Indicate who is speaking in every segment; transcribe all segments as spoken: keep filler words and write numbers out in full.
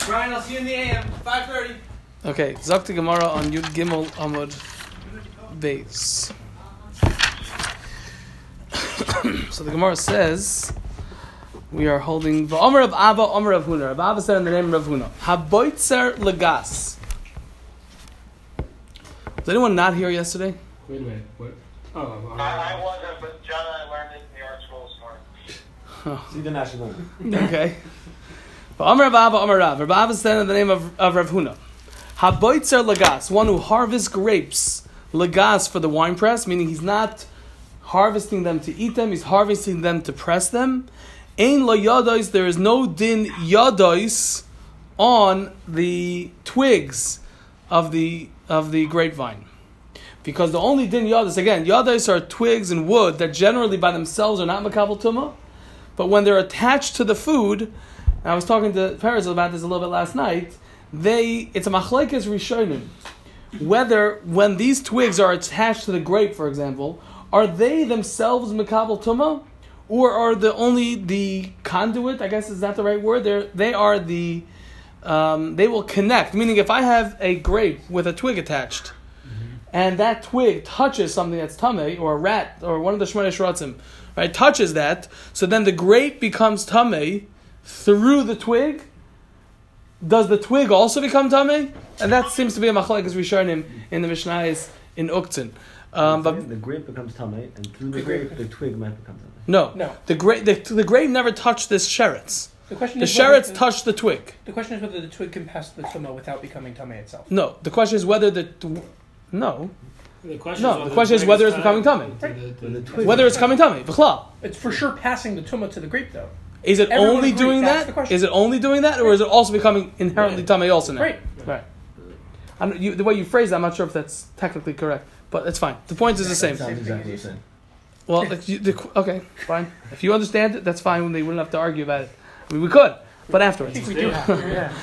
Speaker 1: Brian, I'll see you in the A M. five thirty.
Speaker 2: Okay, Zakti Gemara on Yud Gimel Amud Beis. So the Gemara says we are holding V'Omer of Abba, Omer of Huna. Rav Abba said in the name of Huna, Haboitzer Lagas. Was anyone not here yesterday?
Speaker 3: Wait a minute. What? Oh, uh,
Speaker 4: I, I wasn't, but John and I learned it in the art school this morning.
Speaker 2: Oh.
Speaker 3: See the national.
Speaker 2: Okay. V'Omer of Abba, Omer Rav. Rav Abba said in the name of, of Rav Huna, Haboitzer Lagas, one who harvests grapes, Lagas for the wine press, meaning he's not harvesting them to eat them, he's harvesting them to press them. Ein lo yadois, there is no din yadois on the twigs of the of the grapevine. Because the only din yadois, again, yadois are twigs and wood that generally by themselves are not makabel tumah, but when they're attached to the food, and I was talking to Paris about this a little bit last night, they it's a machlekes rishonim. Whether when these twigs are attached to the grape, for example, are they themselves makabel tumah, or are the only the conduit? I guess is that the right word? They they are the um, they will connect. Meaning, if I have a grape with a twig attached, mm-hmm. and that twig touches something that's tamei, or a rat, or one of the shmoneh shratzim, right, touches that, so then the grape becomes tamei through the twig. Does the twig also become tamei? And that seems to be a machlekes rishonim in the Mishnayos in Uktzin. Um, but
Speaker 5: the grape becomes tamei, and through the grape, the twig might become tamei.
Speaker 2: No,
Speaker 1: no.
Speaker 2: The grape, the, the grape never touched this sheretz.
Speaker 1: The question
Speaker 2: the
Speaker 1: is
Speaker 2: sheretz
Speaker 1: the,
Speaker 2: touched the twig.
Speaker 1: The question is whether the twig can pass the tumah without becoming tamei itself.
Speaker 2: No, the question is whether the no.
Speaker 3: The question
Speaker 2: no,
Speaker 3: is
Speaker 2: the question is whether it's becoming tamei.
Speaker 1: Right.
Speaker 5: The, the twig
Speaker 2: whether it's coming tamei. V'chlal.
Speaker 1: It's for sure passing the tumah to the grape, though.
Speaker 2: Is it
Speaker 1: Everyone
Speaker 2: only
Speaker 1: agreed,
Speaker 2: doing
Speaker 1: that's
Speaker 2: that?
Speaker 1: the
Speaker 2: Is it only doing that, or
Speaker 1: right.
Speaker 2: is it also becoming inherently
Speaker 3: right.
Speaker 2: tamei also now?
Speaker 1: Right.
Speaker 2: Right. I don't, you, the way you phrase it, I'm not sure if that's technically correct, but it's fine. The point is the same.
Speaker 5: sounds exactly the same.
Speaker 2: Well, like you, the, okay, fine. If you understand it, that's fine. They wouldn't have to argue about it. I mean, we could, but afterwards.
Speaker 1: We do have to, yeah.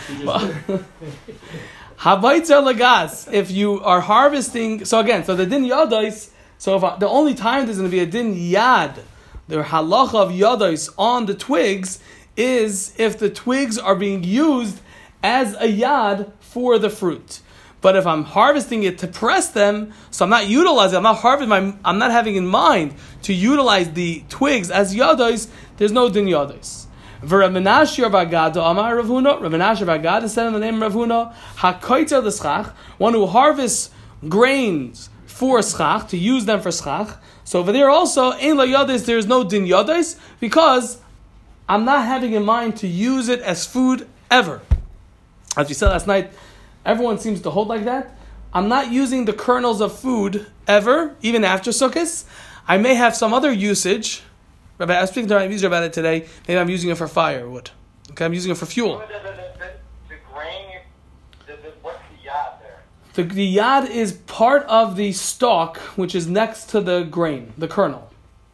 Speaker 2: Habaitzer lagas. If you are harvesting, so again, so the din yadais. So if I, the only time there's going to be a din yad, the halacha of yadais on the twigs is if the twigs are being used as a yad for the fruit. But if I'm harvesting it to press them, so I'm not utilizing, I'm not harvesting, my, I'm not having in mind to utilize the twigs as yadois, there's no din yadois. Rav Menashe Bar Gada Amar Rav Huna, Rav Menashe Bar Gada said in the name of Rav Huna, HaKoitzer l'schach, one who harvests grains for schach, to use them for schach. So over there also, ein lo yadois, there's no din yadois, because I'm not having in mind to use it as food ever. As we said last night, everyone seems to hold like that. I'm not using the kernels of food ever, even after Sukkot. I may have some other usage. Rabbi, I was speaking to my user about it today. Maybe I'm using it for firewood. Okay, I'm using it for fuel.
Speaker 4: The, the, the, the, the grain, the, the, what's the yad there?
Speaker 2: The, the yad is part of the stalk, which is next to the grain, the kernel.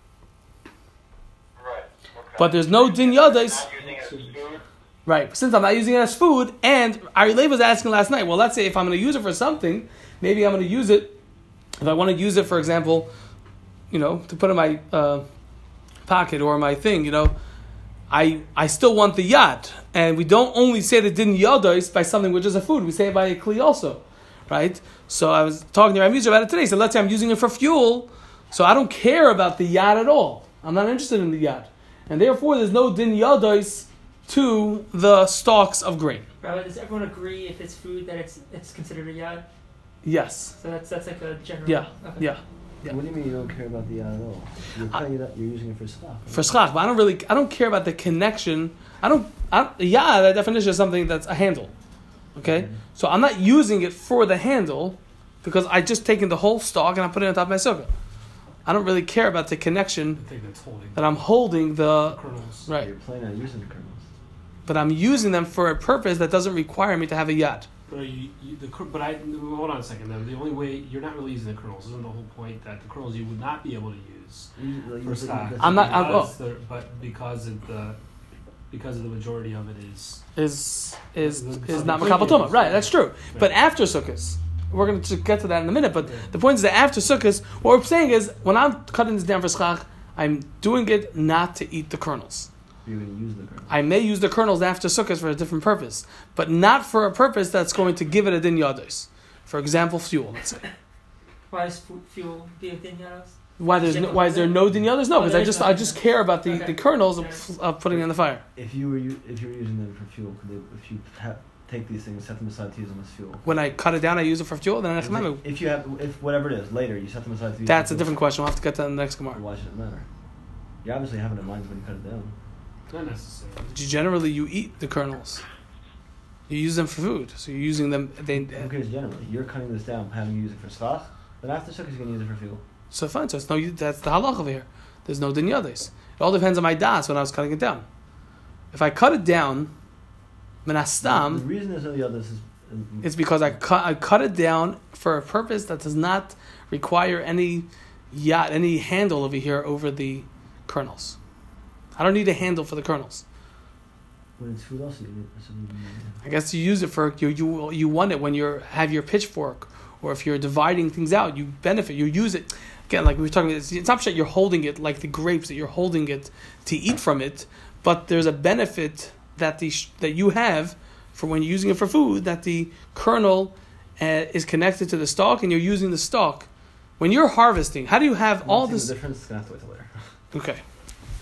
Speaker 4: Right. Okay.
Speaker 2: But there's no din yadais.
Speaker 4: Not using it as food?
Speaker 2: Right, since I'm not using it as food, and Ari Lev was asking last night, well, let's say if I'm going to use it for something, maybe I'm going to use it, if I want to use it, for example, you know, to put in my uh, pocket or my thing, you know, I I still want the yad. And we don't only say that din yadois by something which is a food, we say it by a kli also, right? So I was talking to my user about it today, so let's say I'm using it for fuel, so I don't care about the yad at all. I'm not interested in the yad. And therefore, there's no din yadois to the stalks of grain.
Speaker 6: Rabbi, does everyone agree if it's food that it's it's considered a yad?
Speaker 2: Yes.
Speaker 6: So that's that's like a general.
Speaker 2: Yeah.
Speaker 6: Okay.
Speaker 2: Yeah. Yeah.
Speaker 5: What do you mean you don't care about the yad at all? You're,
Speaker 2: I,
Speaker 5: you're using it for schach.
Speaker 2: For schach, but I don't really, I don't care about the connection. I don't, I don't yeah, that definition is something that's a handle. Okay? Mm-hmm. So I'm not using it for the handle because I just taken the whole stalk and I put it on top of my sukkah. I don't really care about the connection
Speaker 3: the thing that's holding
Speaker 2: that I'm holding the,
Speaker 3: the kernels.
Speaker 2: Right.
Speaker 5: You're planning on using the kernels.
Speaker 2: But I'm using them for a purpose that doesn't require me to have a yad.
Speaker 3: But, you, you, the, but I hold on a second. Though the only way you're not really using the kernels isn't the whole point that the kernels you would not be able to use
Speaker 5: You, like,
Speaker 3: for
Speaker 5: you-
Speaker 3: stock.
Speaker 5: that's
Speaker 2: I'm not- I'm-
Speaker 3: Because the- but because of the because of the majority of it is
Speaker 2: Is is
Speaker 3: The-
Speaker 2: is
Speaker 3: the
Speaker 2: not
Speaker 3: point
Speaker 2: makabel
Speaker 3: is-
Speaker 2: tumah. Right, that's true.
Speaker 3: Right.
Speaker 2: But after sukkahs, we're going to get to that in a minute. But
Speaker 3: Yeah.
Speaker 2: the point is that after sukkahs, what we're saying is when I'm cutting this down for schach, I'm doing it not to eat the kernels.
Speaker 5: You're going to use the kernels.
Speaker 2: I may use the kernels after Sukkot for a different purpose, but not for a purpose that's going to give it a din yados. For example, fuel, let's say.
Speaker 6: Why is fu- fuel be a din yados?
Speaker 2: Why there's no, why is there no din yados? No,
Speaker 6: Oh,
Speaker 2: because
Speaker 6: there
Speaker 2: I
Speaker 6: is
Speaker 2: just
Speaker 6: no
Speaker 2: I
Speaker 6: din
Speaker 2: just
Speaker 6: yados.
Speaker 2: care about the,
Speaker 6: Okay.
Speaker 2: the kernels
Speaker 6: Okay.
Speaker 2: of, of putting it in the fire.
Speaker 5: If you were u- if you were using them for fuel, could they, if you ha- take these things, set them aside to use them as fuel?
Speaker 2: When I cut it down, I use it for fuel. Then I
Speaker 5: If, they- if you have, if whatever it is, later you set them aside to use
Speaker 2: that's
Speaker 5: them
Speaker 2: a
Speaker 5: for
Speaker 2: different question. We'll have to get to that in the next
Speaker 5: fuel,
Speaker 2: Gemara.
Speaker 5: why should it matter? You obviously have it in mind when you cut it down.
Speaker 3: Not necessarily.
Speaker 2: Generally, you eat the kernels. You use them for food, so you're using them. They
Speaker 5: Who cares generally? You're cutting this down, having you use it for schach, then after Sukkot you're going to use it for fuel.
Speaker 2: so fine. So it's no. That's the halach over here. There's no din yados. It all depends on my das when I was cutting it down. If I cut it down,
Speaker 5: The
Speaker 2: menastam,
Speaker 5: reason there's no the others is...
Speaker 2: it's because I cut I cut it down for a purpose that does not require any yacht, any handle over here over the kernels. I don't need a handle for the kernels.
Speaker 5: When it's food also, you need... so you need-
Speaker 2: I guess you use it for you you you want it when you have your pitchfork, or if you're dividing things out, you benefit. You use it again, like we were talking about. It's, it's not that you're holding it like the grapes that you're holding it to eat from it, but there's a benefit that the sh- that you have for when you're using it for food. That the kernel uh, is connected to the stalk, and you're using the stalk when you're harvesting. How do you have
Speaker 5: I'm
Speaker 2: all
Speaker 5: not seeing
Speaker 2: this?
Speaker 5: The difference is going to have to wait till later.
Speaker 2: Okay.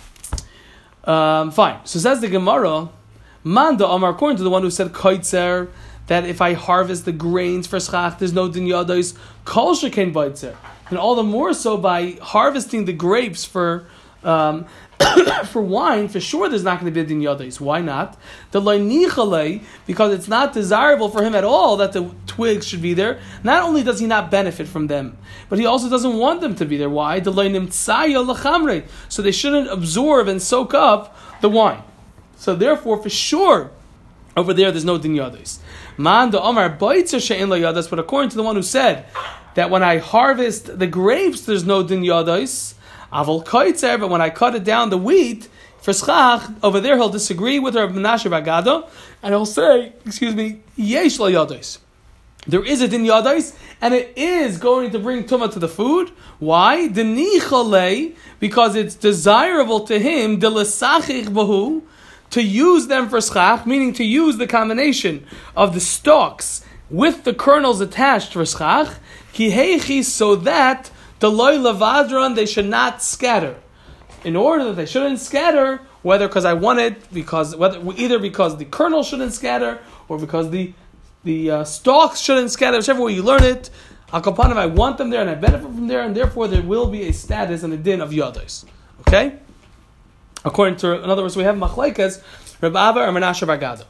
Speaker 2: Um, fine. So says the Gemara, Manda Amar, according to the one who said Kaitzer, that if I harvest the grains for schach, there's no din yados, Kol shekain baitzer. And all the more so by harvesting the grapes for um, for wine, for sure there's not going to be a din yados. Why not? The loy because it's not desirable for him at all that the twigs should be there. Not only does he not benefit from them, but he also doesn't want them to be there. Why? The loy nimtzaya lachamre. So they shouldn't absorb and soak up the wine. So therefore, for sure, over there there's no din yados. Man the Omar baitzer she'en lo yados, but according to the one who said that when I harvest the grapes there's no din yados, Aval kaitzer, but when I cut it down the wheat for schach, over there he'll disagree with Rav Menashe bar Gado, and he'll say, excuse me, yesh lo yados. There is a din yados, and it is going to bring tumah to the food. Why? Denichale, because it's desirable to him, de lesachich bahu, to use them for schach, meaning to use the combination of the stalks with the kernels attached for schach, ki heichi, so that the loy lavadron, they should not scatter. In order that they shouldn't scatter, whether because I want it, because whether either because the kernel shouldn't scatter, or because the the uh, stalks shouldn't scatter, whichever way you learn it, al kapanim, I want them there and I benefit from there, and therefore there will be a status and a din of yados. Okay? According to, in other words, we have machlekes, Reb Abba or Menashe bar Gado.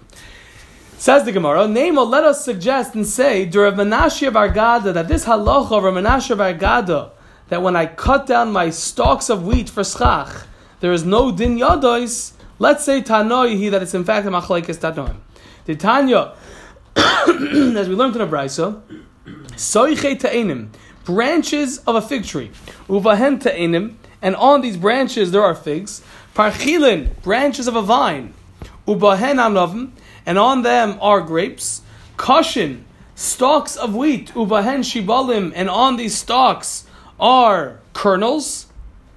Speaker 2: Says the Gemara, Nemo, let us suggest and say, to Reb Menashe bar Gado, that this halacha of Reb Menashe bar Gado, that when I cut down my stalks of wheat for schach, there is no din yados. Let's say Tanoi, that it's in fact a machlekes Tanoim. The Tanya, as we learned in the Brisa, Soiche ta'enim, branches of a fig tree, Uvahen ta'enim, and on these branches there are figs. Parchilin, branches of a vine, Ubahen anovim, and on them are grapes. Kashin, stalks of wheat, Ubahen shibalim, and on these stalks are kernels.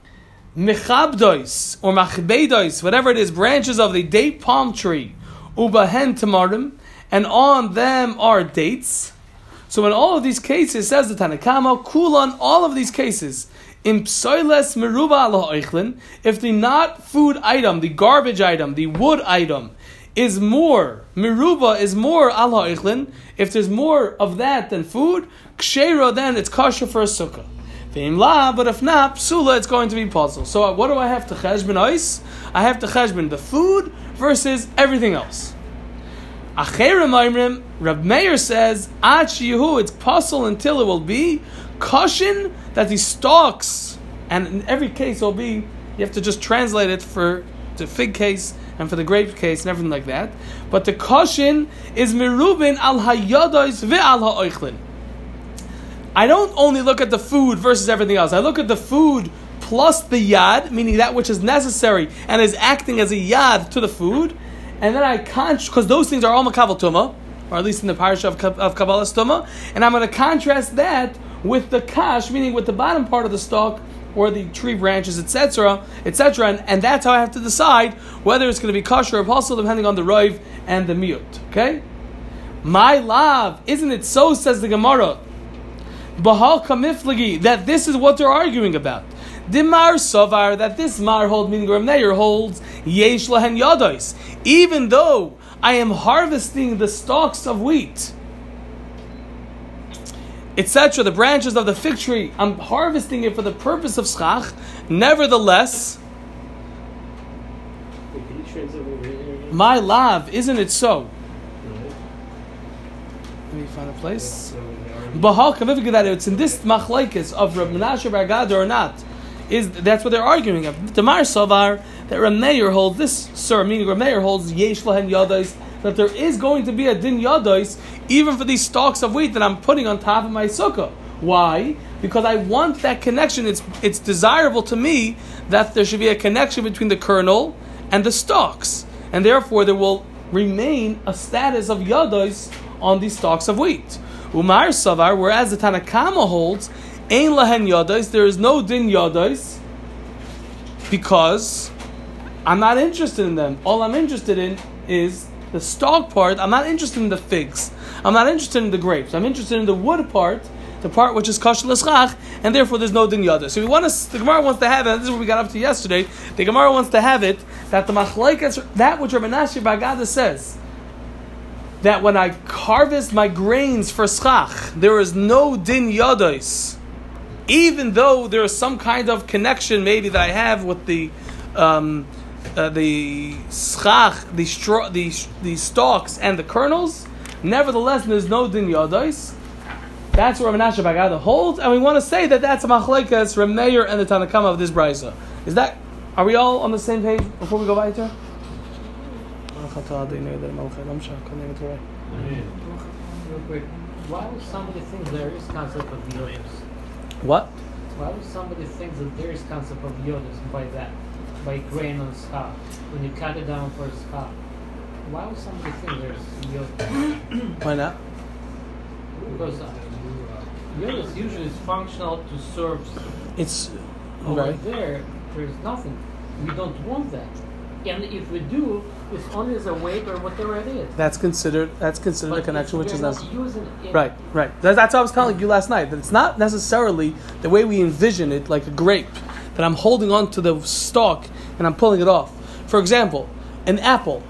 Speaker 2: Mechabdois, or machbedois, whatever it is, branches of the date palm tree, Ubahen tamarim, and on them are dates. So in all of these cases, says the Tanakama, Kulan, all of these cases, in psoiles meruba ala oichlin, if the not food item, the garbage item, the wood item, is more, meruba is more ala oichlin, if there's more of that than food, kshera, then it's kosher for a sukkah. Ve'im but if not, psula, it's going to be puzzle. So what do I have to cheshbon ois? I have to cheshbon the food versus everything else. Acherim Aimrim, Rab Meir says, Ad Shihu, it's puzzle until it will be kashin, that the stalks, and in every case it will be, you have to just translate it for the fig case and for the grape case and everything like that. But the kashin is mirubin al hayados ve al ha'oichlin. I don't only look at the food versus everything else. I look at the food plus the yad, meaning that which is necessary and is acting as a yad to the food. And then I can't, because those things are all makabel tuma, or at least in the parasha of, of Kabbalah tuma, and I'm going to contrast that with the kash, meaning with the bottom part of the stalk, or the tree branches, et cetera, et cetera, and, and that's how I have to decide whether it's going to be kosher or possible, depending on the roiv and the miut. Okay, my love, isn't it so? Says the Gemara, Bahal kamiflagi, that this is what they're arguing about. Dimar Savar, that this Mar hold, meaning Rav Meir holds, Yesh Lahen Yadois, even though I am harvesting the stalks of wheat, et cetera, the branches of the fig tree, I'm harvesting it for the purpose of schach, nevertheless, my love, isn't it so? Let me find a place. Bahal kamiflagi, that it's in this machlekes of Rav Menashe bar Gad or not, is that's what they're arguing of. Tamar Savar, that Rav Meir holds this, sir, meaning Rav Meir holds Yesh Lahen Yadois, that there is going to be a din Yadois even for these stalks of wheat that I'm putting on top of my sukkah. Why? Because I want that connection. It's it's desirable to me that there should be a connection between the kernel and the stalks, and therefore there will remain a status of Yadois on these stalks of wheat. Umar Savar, whereas the Tanakama holds Ein Lahen Yadois, there is no din Yadois, because I'm not interested in them. All I'm interested in is the stalk part. I'm not interested in the figs. I'm not interested in the grapes. I'm interested in the wood part, the part which is kosher l'schach, and therefore there's no din Yadois. So we want to, the Gemara wants to have it, and this is what we got up to yesterday, the Gemara wants to have it, that the machlekes, that which Rav Menashe bar Gad says, that when I harvest my grains for schach, there is no din Yadois, even though there is some kind of connection maybe that I have with the um, uh, the schach, the straw, the the stalks and the kernels. Nevertheless, there's no din Yadois. That's what Rav Menashe bar Gad holds, and we want to say that that's a machlekes Rav Meir and the Tanakama of this brayso. Is that? Are we all on the same page before we go weiter?
Speaker 6: Real quick, why would somebody think there is concept of Yodas?
Speaker 2: What?
Speaker 6: Why would somebody think that there is concept of Yodas by that? By grain on schach? When you cut it down for schach? Why would somebody think there's Yodas?
Speaker 2: Why not?
Speaker 6: Because uh, Yodas usually is functional to serve.
Speaker 2: It's
Speaker 6: Over
Speaker 2: right.
Speaker 6: there, there's nothing. We don't want that. And if we do, it's only as a weight or whatever it is.
Speaker 2: That's considered. That's considered
Speaker 6: But
Speaker 2: a connection, which
Speaker 6: we're
Speaker 2: is
Speaker 6: not
Speaker 2: not
Speaker 6: using it.
Speaker 2: right. Right. That's, that's what I was telling you last night. That it's not necessarily the way we envision it, like a grape, that I'm holding on to the stalk and I'm pulling it off. For example, an apple.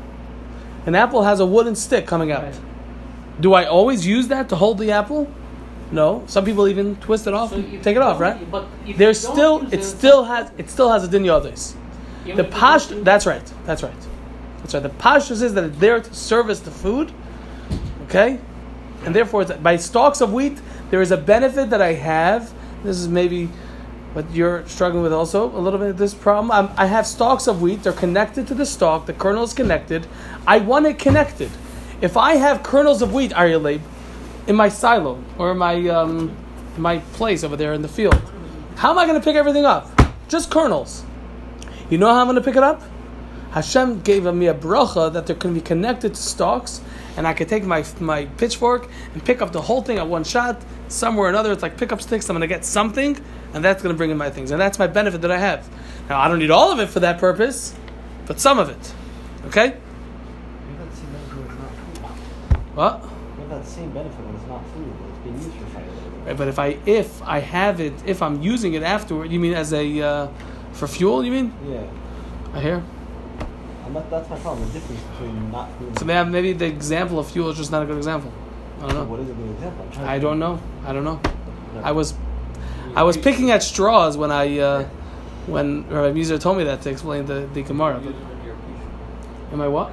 Speaker 2: An apple has a wooden stick coming out.
Speaker 6: Right.
Speaker 2: Do I always use that to hold the apple? No. Some people even twist it off
Speaker 6: So
Speaker 2: and
Speaker 6: if
Speaker 2: take it
Speaker 6: you
Speaker 2: off,
Speaker 6: don't-
Speaker 2: right?
Speaker 6: But if
Speaker 2: There's
Speaker 6: you don't
Speaker 2: still
Speaker 6: use
Speaker 2: it still has it still has a din Yadois.
Speaker 6: even
Speaker 2: The
Speaker 6: if you
Speaker 2: pash,
Speaker 6: don't use
Speaker 2: that's right, that's right, that's right. The pashtus is that it's there to service the food, okay, and therefore it's, by stalks of wheat there is a benefit that I have. This is maybe what you're struggling with also a little bit of this problem. I'm, I have stalks of wheat; they're connected to the stalk. The kernel is connected. I want it connected. If I have kernels of wheat, Aryeh, in my silo or in my um, in my place over there in the field, how am I going to pick everything up? Just kernels. You know how I'm going to pick it up? Hashem gave me a bracha that they're going to be connected to stalks, and I can take my my pitchfork and pick up the whole thing at one shot. Somewhere or another, it's like pick up sticks. I'm going to get something, and that's going to bring in my things, and that's my benefit that I have. Now I don't need all of it for that purpose, but some of it. Okay?
Speaker 5: You have that same benefit when it's not food.
Speaker 2: What?
Speaker 5: You have that same benefit when it's not food, when it's being used for fire.
Speaker 2: Right, but if I if I have it, if I'm using it afterward, you mean as a uh, for fuel? You mean?
Speaker 5: Yeah.
Speaker 2: I hear.
Speaker 5: And that, that's my problem, the difference between not food and
Speaker 2: So maybe, maybe the example of fuel is just not a good example. I don't
Speaker 5: So
Speaker 2: know.
Speaker 5: what is a good example? I'm trying to
Speaker 2: I don't know. I don't know.
Speaker 5: No.
Speaker 2: I was I was picking at straws when I uh, when Rabbi Muser told me that to explain the, the Gemara. But am I what?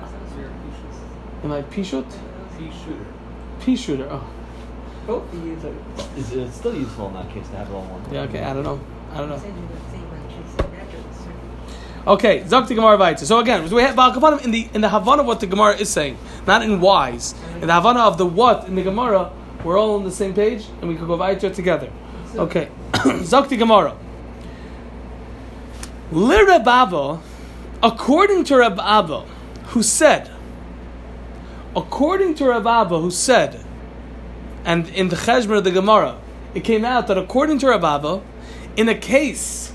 Speaker 2: Am I pishut?
Speaker 3: Pea shooter.
Speaker 2: Pea shooter. Oh,
Speaker 6: Both of you.
Speaker 5: It's, it's still useful in that case to have it all in one.
Speaker 2: yeah. Okay. I don't know. I don't know. Okay, Zakti Gemara Vaitza. So again, we have Ba'al in the in the Havana of what the Gemara is saying, not in whys. In the Havana of the what in the Gemara, we're all on the same page, and we could go Vaitza together. Okay, Zakti Gemara. Li Reb Abba, according to Reb Abba, who said, according to Reb Abba, who said, and in the Cheshbon of the Gemara, it came out that according to Reb Abba, in a case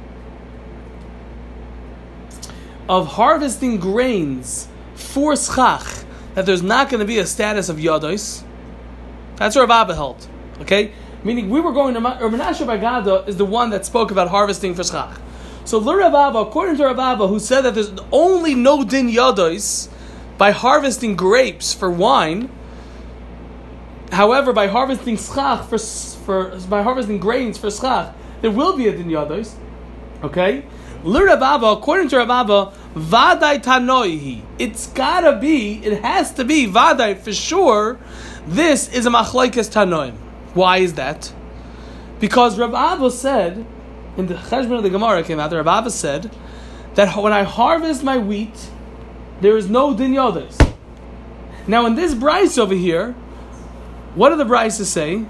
Speaker 2: of harvesting grains for schach, that there's not going to be a status of yados. That's where Rav Abba held. Okay? Meaning we were going to, or Menashe Bar Gada is the one that spoke about harvesting for schach. So Rav Abba, according to Rav Abba, who said that there's only no din yados by harvesting grapes for wine, however, by harvesting schach for, for by harvesting grains for schach, there will be a din yados. Okay? Rav Abba, according to Rav Abba, vadai tanoihi. It's gotta be, it has to be vadai for sure. This is a machlokes tanoim. Why is that? Because Rav Abba said, in the Cheshbon of the Gemara came out, Rav Abba said that when I harvest my wheat, there is no din yados. Now in this brayso over here, what do the braysos say?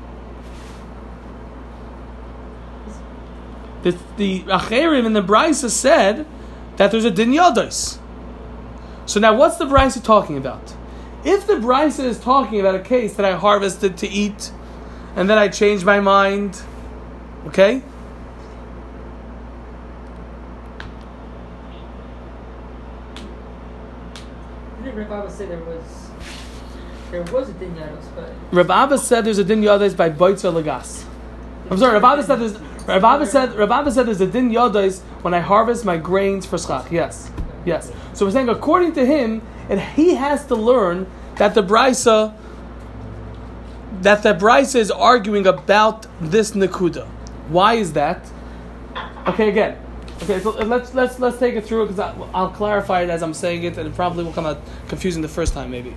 Speaker 2: The, the Acherim in the brayso said that there's a din yados. So now what's the brayso talking about? If the brayso is talking about a case that I harvested to eat, and then I changed my mind, okay?
Speaker 6: Didn't Rav Abba say there was there was a din yados, but
Speaker 2: Rav Abba said there's a din yados by boitzer lagas. I'm sorry, Rav Abba said there's Rav Abba said Rav Abba said there's a din yados when I harvest my grains for schach. Yes, yes. So we're saying according to him, and he has to learn that the brisa that the brisa is arguing about this nekuda. Why is that? Okay, again. Okay, so let's let's let's take it through because I'll clarify it as I'm saying it, and it probably will come out confusing the first time, maybe.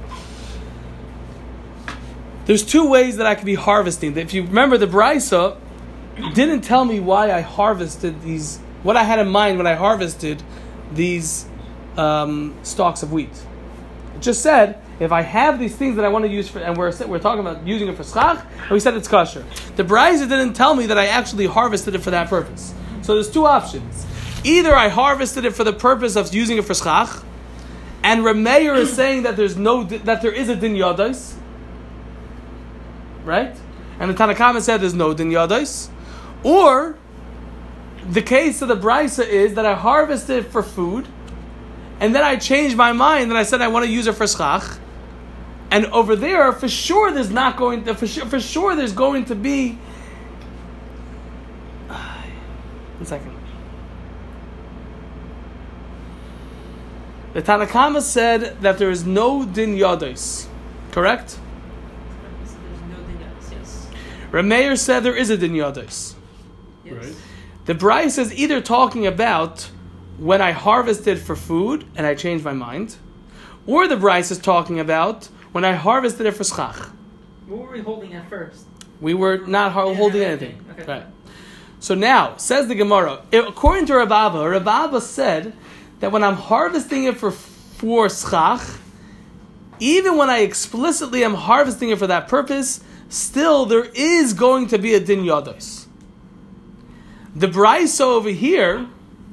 Speaker 2: There's two ways that I could be harvesting. If you remember, the brisa didn't tell me why I harvested these, what I had in mind when I harvested these um, stalks of wheat. It just said, if I have these things that I want to use for, and we're we're talking about using it for schach, and we said it's kosher. The brisa didn't tell me that I actually harvested it for that purpose. So there's two options. Either I harvested it for the purpose of using it for schach, and Rameir is saying that there's no that there is a din yados, right? And the Tanakama said there's no din yados, or the case of the brisa is that I harvested it for food, and then I changed my mind and I said I want to use it for schach. And over there, for sure, there's not going to, for sure, for sure, there's going to be. One second. The Tanakama said that there is no din yados, correct?
Speaker 6: there's no din yados. Yes.
Speaker 2: Rameir said there is a din yados.
Speaker 6: Yes.
Speaker 3: Right.
Speaker 2: The brayso is either talking about when I harvested for food and I changed my mind, or the brayso is talking about when I harvested it for schach.
Speaker 6: What were we holding at first?
Speaker 2: We were not ho-
Speaker 6: Yeah,
Speaker 2: holding
Speaker 6: not
Speaker 2: anything.
Speaker 6: anything. Okay.
Speaker 2: Right. So now, says the Gemara, according to Rav Abba, Rav Abba said that when I'm harvesting it for, for schach, even when I explicitly am harvesting it for that purpose, still there is going to be a din yados. The brayso over here,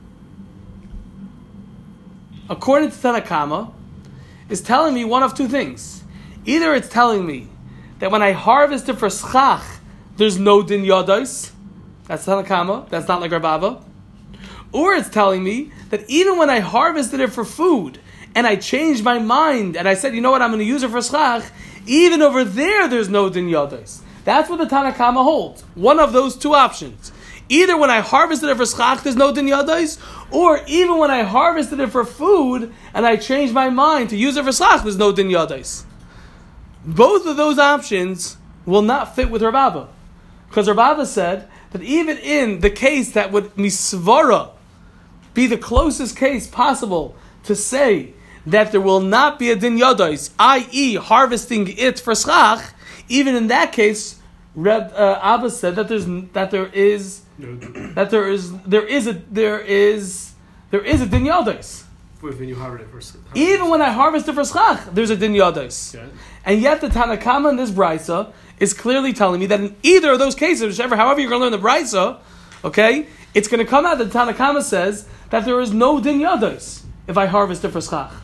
Speaker 2: according to Tanakama, is telling me one of two things. Either it's telling me that when I harvest it for schach, there's no din yados. That's Tanakama. That's not like Rav Abba. Or it's telling me that even when I harvested it for food and I changed my mind and I said, you know what, I'm going to use it for schach, even over there, there's no din yados. That's what the Tanakama holds. One of those two options. Either when I harvested it for schach, there's no din yados, or even when I harvested it for food and I changed my mind to use it for schach, there's no din yados. Both of those options will not fit with Rav Abba. Because Rav Abba said that even in the case that would misvara be the closest case possible to say that there will not be a din yados, that is harvesting it for schach, even in that case, Reb uh, Abba said that there's that there is that there is there is a there is there is a din yados.
Speaker 3: When you harvest it for schach.
Speaker 2: Even when I harvest it for schach, there's a din yados.
Speaker 3: Okay.
Speaker 2: And yet the Tanakama in this brisa is clearly telling me that in either of those cases, whichever, however you're going to learn the brisa, okay, it's going to come out that the Tanakama says that there is no din yados if I harvest it for schach.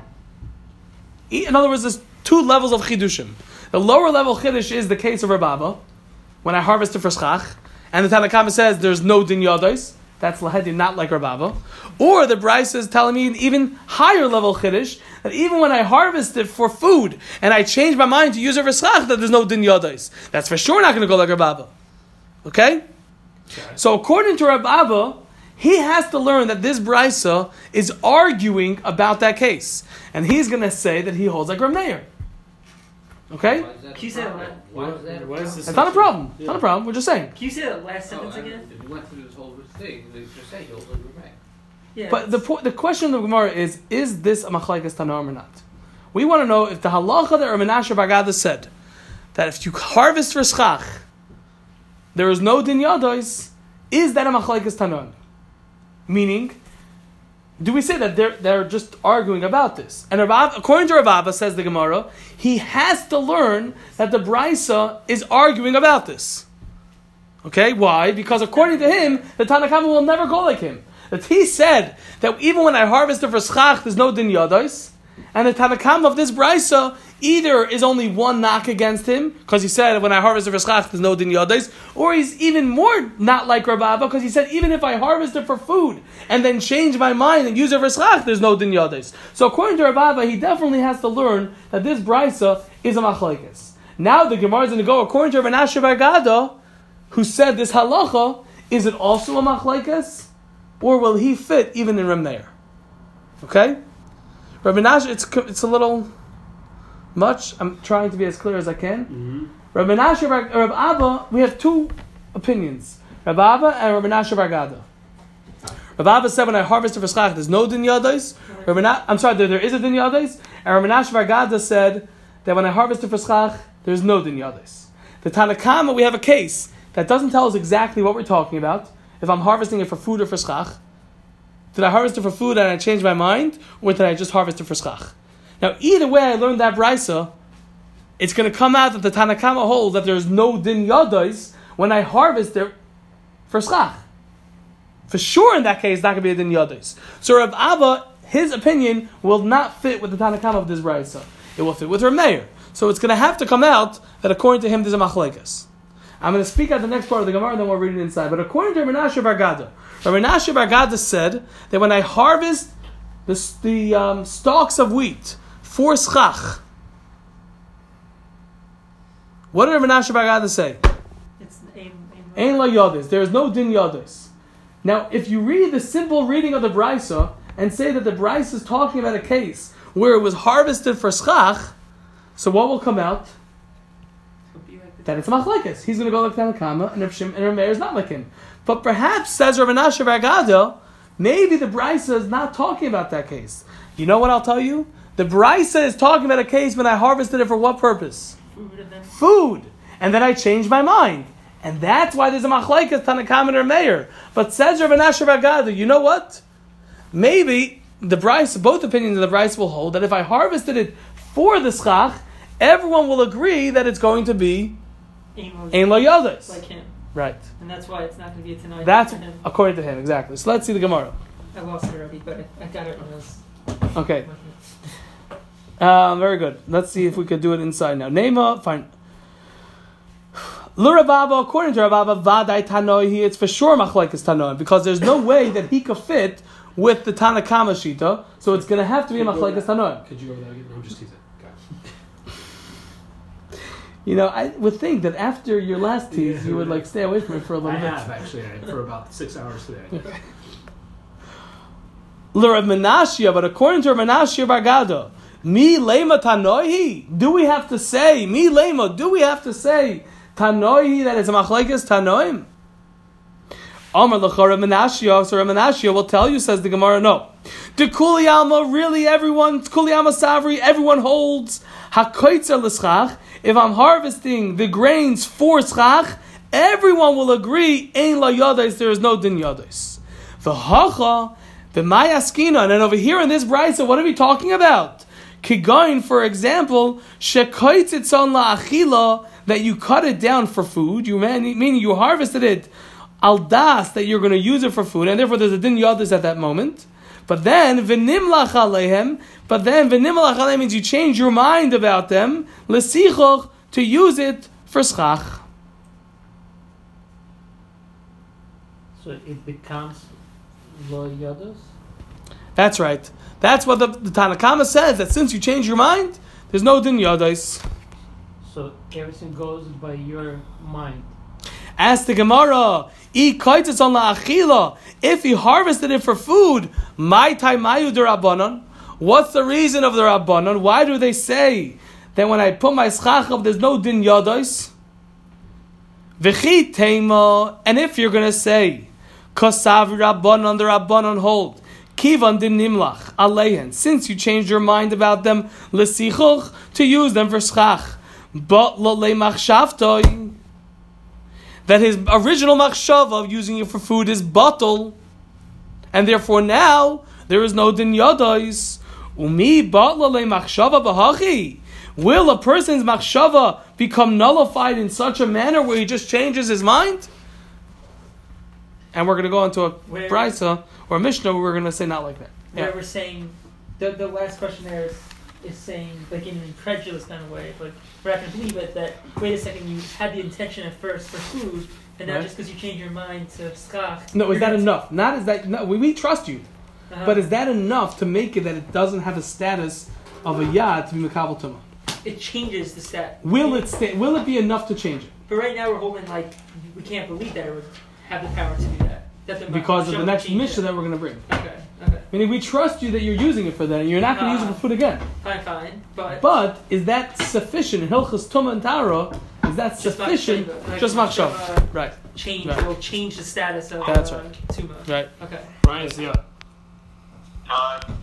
Speaker 2: In other words, there's two levels of chidushim. The lower level chiddush is the case of Rav Abba, when I harvest it for schach, and the Tanna Kama says there's no din yados. That's lahedi, not like Rav Abba. Or the Brisa is telling me an even higher level chiddush, that even when I harvest it for food and I change my mind to use it for schach, that there's no din yados. That's for sure not going to go like Rav Abba. Okay? Okay? So according to Rav Abba, he has to learn that this Brisa is arguing about that case. And he's going to say that he holds like Rav Meir. Okay?
Speaker 6: Why is that
Speaker 5: Can you
Speaker 6: a
Speaker 5: say that
Speaker 6: problem?
Speaker 5: again?
Speaker 6: Why is that a
Speaker 3: What is
Speaker 6: problem?
Speaker 3: this?
Speaker 2: It's not a problem. It's
Speaker 3: Yeah.
Speaker 2: not a problem. We're just saying.
Speaker 5: Can you say that last sentence
Speaker 6: Oh, I-
Speaker 5: again?
Speaker 6: If you went through this whole thing, they just say you'll live right.
Speaker 5: Yeah.
Speaker 2: But the po- the question of the Gemara is, is this a machlekes Tanoim or not? We want to know if the halacha that Rav Menashe bar Gada said, that if you harvest for schach, there is no din yados, is that a machlekes Tanoim? Meaning, do we say that they're, they're just arguing about this? And Rav, according to Rav Abba, says the Gemara, he has to learn that the Brisa is arguing about this. Okay, why? Because according to him, the Tanna Kama will never go like him. That he said that even when I harvest it for schach, there's no din yados, and the Tanna Kama of this Brisa either is only one knock against him, because he said when I harvest it for schach, there's no din yados, or he's even more not like Rav Abba, because he said even if I harvest it for food and then change my mind and use it for schach, there's no din yados. So according to Rav Abba, he definitely has to learn that this Brisa is a machlekes. Now the Gemara is going to go according to Rav Menashe bar Gada, who said this halacha, is it also a machlekes? Or will he fit even in Rav Meir? Okay? Rav Menashe, it's, it's a little much. I'm trying to be as clear as I can.
Speaker 3: Mm-hmm.
Speaker 2: Rav Menashe, Rav Abba, we have two opinions. Rav Abba and Rav Menashe bar Gada. Rav Abba said when I harvested for schach, there's no din yados. I'm sorry, there, there is a din yados. And Rav Menashe bar Gada said that when I harvested for schach, there's no din yados. The Tanna Kama, we have a case that doesn't tell us exactly what we're talking about. If I'm harvesting it for food or for schach. Did I harvest it for food and I changed my mind? Or did I just harvest it for schach? Now, either way I learned that Brisa, it's going to come out that the Tanna Kama holds that there's no din yados when I harvest it for schach. For sure in that case, it's not going to be a din yados. So Rav Abba, his opinion will not fit with the Tanna Kama of this Brisa. It will fit with Rav Meir. So it's going to have to come out that according to him there's a machlekes. I'm going to speak out the next part of the Gemara and then we'll read it inside. But according to Rav Menashe bar Gada, Rav Menashe bar Gada said that when I harvest the, the um, stalks of wheat for schach, what did Rav Menashe bar Gada say?
Speaker 5: It's aim, aim
Speaker 2: Ein la yados. There is no din yados. Now, if you read the simple reading of the Brisa and say that the Brisa is talking about a case where it was harvested for schach, so what will come out? That it's a machlekes. He's going to go like Tanna Kama, and Rav Shim and Rav Meir is not like him. But perhaps, says Rav Menashe bar Gada, maybe the Brisa is not talking about that case. You know what I'll tell you? The Brisa is talking about a case when I harvested it for what purpose?
Speaker 5: Food and then
Speaker 2: Food. And then I changed my mind. And that's why there's a machlekes Tanna Kama and Rav Meir. But says Rav Menashe bar Gada, you know what? Maybe the Brisa, both opinions of the Brisa will hold that if I harvested it for the schach, everyone will agree that it's going to be
Speaker 5: aim
Speaker 2: Ein lo yados.
Speaker 5: like him.
Speaker 2: Right.
Speaker 5: And that's why it's not going to be a tonight.
Speaker 2: That's
Speaker 5: for him.
Speaker 2: according to him, exactly. So let's see the Gemara.
Speaker 5: I lost it already, but I, I got it when I was...
Speaker 2: Okay. Um, very good. Let's see if we could do it inside now. Nema, fine. L'Rababa, according to Rababa, Vadai Tanoi, it's for sure machlekes Tanoi, because there's no way that he could fit with the Tanna Kama Shita, so it's going to have to be a machlekes Tanoi.
Speaker 3: Could you go with that again? No, I'm just teasing.
Speaker 2: You know, I would think that after your last tease, you would like stay away from it for a little
Speaker 3: I
Speaker 2: bit.
Speaker 3: have actually I, for about six hours today.
Speaker 2: L'Rav Menashe, but according to Rav Menashe bar Gada, mi lema tanoihi. Do we have to say mi lema? Do we have to say tanoihi that it's a machlekes tanoim? Amar l'cha Rav Menashe, so Rav Menashe will tell you, says the Gemara, no. De kuli alma, really everyone, kuli alma savri, everyone holds hakoitzer l'schach. If I'm harvesting the grains for schach, everyone will agree, ein la yados, there is no din yados. V'hacha, v'mayaskina, and then over here in this brisa, what are we talking about? Kigain, for example, shekoitzitzon la'achila, that you cut it down for food, you meaning you harvested it al das, that you're going to use it for food, and therefore there's a din yados at that moment. But then, v'nimlach alehem, but then, v'nimlach alehem means you change your mind about them, l'sichoch, to use it for schach.
Speaker 6: So it becomes lo yodos.
Speaker 2: That's right. That's what the, the Tanakama says, that since you change your mind, there's no din yodais.
Speaker 6: So everything goes by your mind.
Speaker 2: Ask the Gemara, "I kaitis on la achila." If he harvested it for food, my taimayu de rabbanon. What's the reason of the rabbanon? Why do they say that when I put my schachab, there's no din yodais? V'chi teima. And if you're gonna say, "Kosav rabbanon," the rabbanon hold, "Kivan din nimlach aleihen," since you changed your mind about them, l'sichuch, to use them for schach, but lo le machshavtoi, that his original machshava of using it for food is batal, and therefore now there is no din yadais. Umi batla le machshava b'hachi. Will a person's machshava become nullified in such a manner where he just changes his mind? And we're going to go into a
Speaker 7: Where-
Speaker 2: brisa or a mishnah where we're going to say not like that.
Speaker 7: Where
Speaker 2: Yeah.
Speaker 7: we're saying the the last question there is, is saying like in an incredulous kind of way, like we're not going to believe it. That wait a second, you had the intention at first for food, and now
Speaker 2: Right.
Speaker 7: just because you change your mind to schach.
Speaker 2: No, is
Speaker 7: you're
Speaker 2: that
Speaker 7: gonna-
Speaker 2: enough? Not is that no, we, we trust you,
Speaker 7: Uh-huh.
Speaker 2: but is that enough to make it that it doesn't have a status of a yad to be mekabel tumah?
Speaker 7: it changes the stat.
Speaker 2: Will it sta- Will it be enough to change it?
Speaker 7: But right now we're holding like we can't believe that it would have the power to do that. That the
Speaker 2: Because of the
Speaker 7: Machshava
Speaker 2: next
Speaker 7: changed
Speaker 2: mishnah
Speaker 7: it.
Speaker 2: that we're going to bring.
Speaker 7: Okay. Okay.
Speaker 2: Meaning we trust you that you're using it for that, and you're not going to use it for food again.
Speaker 7: Fine. Fine. But.
Speaker 2: But is that sufficient in Hilchas Tumah and Tara? Is that
Speaker 7: Just
Speaker 2: sufficient?
Speaker 7: machshava, like
Speaker 2: Just machshava,
Speaker 7: machshava
Speaker 2: right?
Speaker 7: change
Speaker 2: Right.
Speaker 7: will change the status of
Speaker 2: That's
Speaker 7: uh,
Speaker 2: right.
Speaker 7: tuma.
Speaker 2: Right.
Speaker 7: Okay.
Speaker 3: Brian, see ya.
Speaker 4: Time.